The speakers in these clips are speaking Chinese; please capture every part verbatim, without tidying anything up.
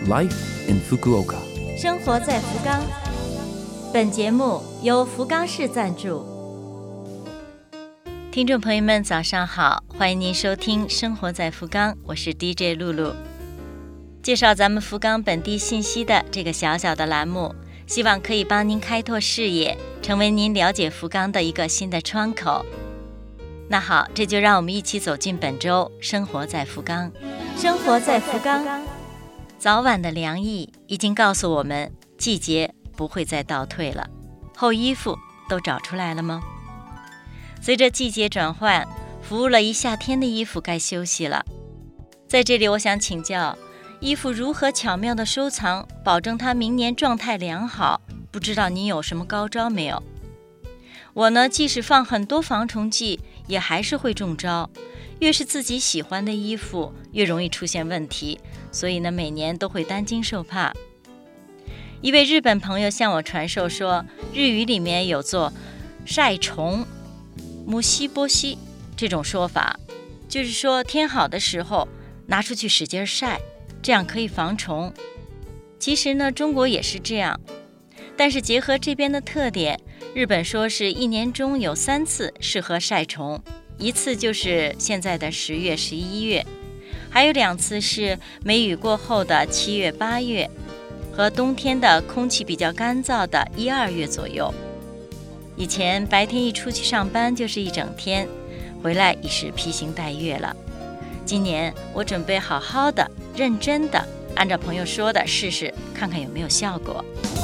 Life in Fukuoka。 生活在福冈。本节目由福冈市赞助。听众朋友们，早上好，欢迎您收听《生活在福冈》，我是 D J 露露。介绍咱们福冈本地信息的这个小小的栏目，希望可以帮您开拓视野，成为您了解福冈的一个新的窗口。那好，这就让我们一起走进本周生活在福冈。生活在福冈，早晚的凉意已经告诉我们，季节不会再倒退了。厚衣服都找出来了吗？随着季节转换，服务了一夏天的衣服该休息了。在这里，我想请教，衣服如何巧妙地收藏，保证它明年状态良好？不知道您有什么高招没有？我呢，即使放很多防虫剂，也还是会中招。越是自己喜欢的衣服，越容易出现问题，所以呢，每年都会担惊受怕。一位日本朋友向我传授说，日语里面有做晒虫、母西波西这种说法，就是说天好的时候拿出去使劲晒，这样可以防虫。其实呢，中国也是这样，但是结合这边的特点，日本说是一年中有三次适合晒虫，一次就是现在的十月、十一月，还有两次是梅雨过后的七月、八月，和冬天的空气比较干燥的一二月左右。以前白天一出去上班就是一整天，回来已是披星戴月了。今年我准备好好的、认真的，按照朋友说的试试，看看有没有效果。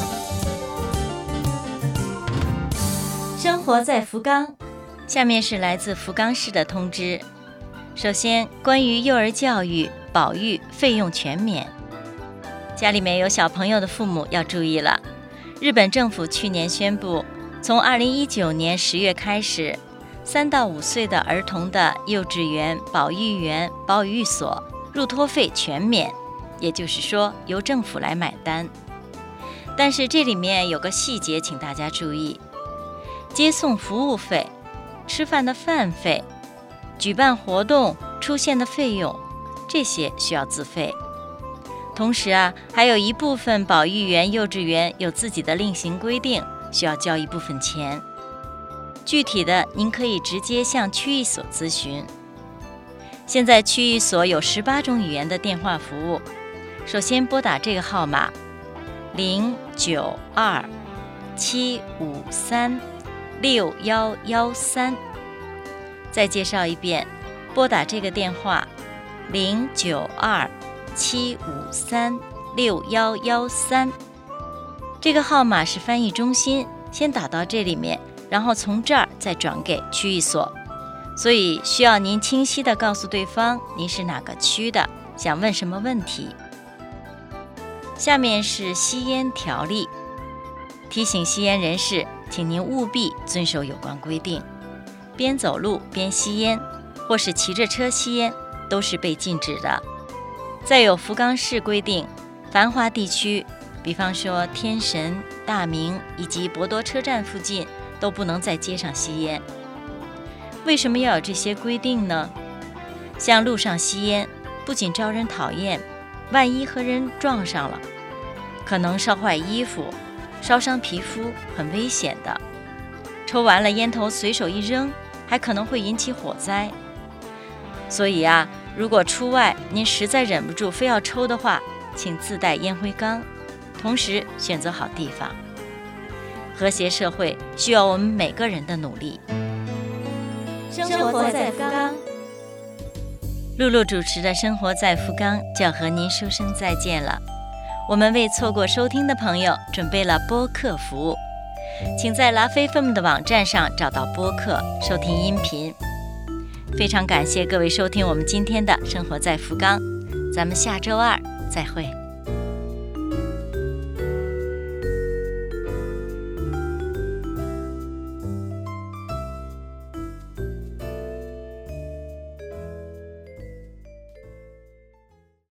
生活在福冈，下面是来自福冈市的通知。首先，关于幼儿教育保育费用全免，家里面有小朋友的父母要注意了。日本政府去年宣布，从二零一九年十月开始，三到五岁的儿童的幼稚园、保育园、保育所入托费全免，也就是说由政府来买单。但是这里面有个细节，请大家注意。接送服务费、吃饭的饭费、举办活动出现的费用，这些需要自费。同时啊，还有一部分保育园、幼稚园有自己的另行规定，需要交一部分钱。具体的您可以直接向区域所咨询。现在区域所有十八种语言的电话服务，首先拨打这个号码零九二七五三六一一三，再介绍一遍，拨打这个电话零九二七五三六一一三。这个号码是翻译中心，先打到这里面，然后从这儿再转给区域所，所以需要您清晰地告诉对方您是哪个区的，想问什么问题。下面是吸烟条例，提醒吸烟人士，请您务必遵守有关规定，边走路边吸烟，或是骑着车吸烟，都是被禁止的。再有福冈市规定，繁华地区，比方说天神、大名以及博多车站附近，都不能在街上吸烟。为什么要有这些规定呢？像路上吸烟，不仅招人讨厌，万一和人撞上了，可能烧坏衣服、烧伤皮肤，很危险的。抽完了烟头随手一扔，还可能会引起火灾。所以啊，如果出外您实在忍不住非要抽的话，请自带烟灰缸，同时选择好地方。和谐社会需要我们每个人的努力。生活在福冈，露露主持的《生活在福冈》就要和您说声再见了。我们为错过收听的朋友准备了播客服务，请在拉菲 F M 的网站上找到播客，收听音频。非常感谢各位收听我们今天的《生活在福冈》，咱们下周二再会。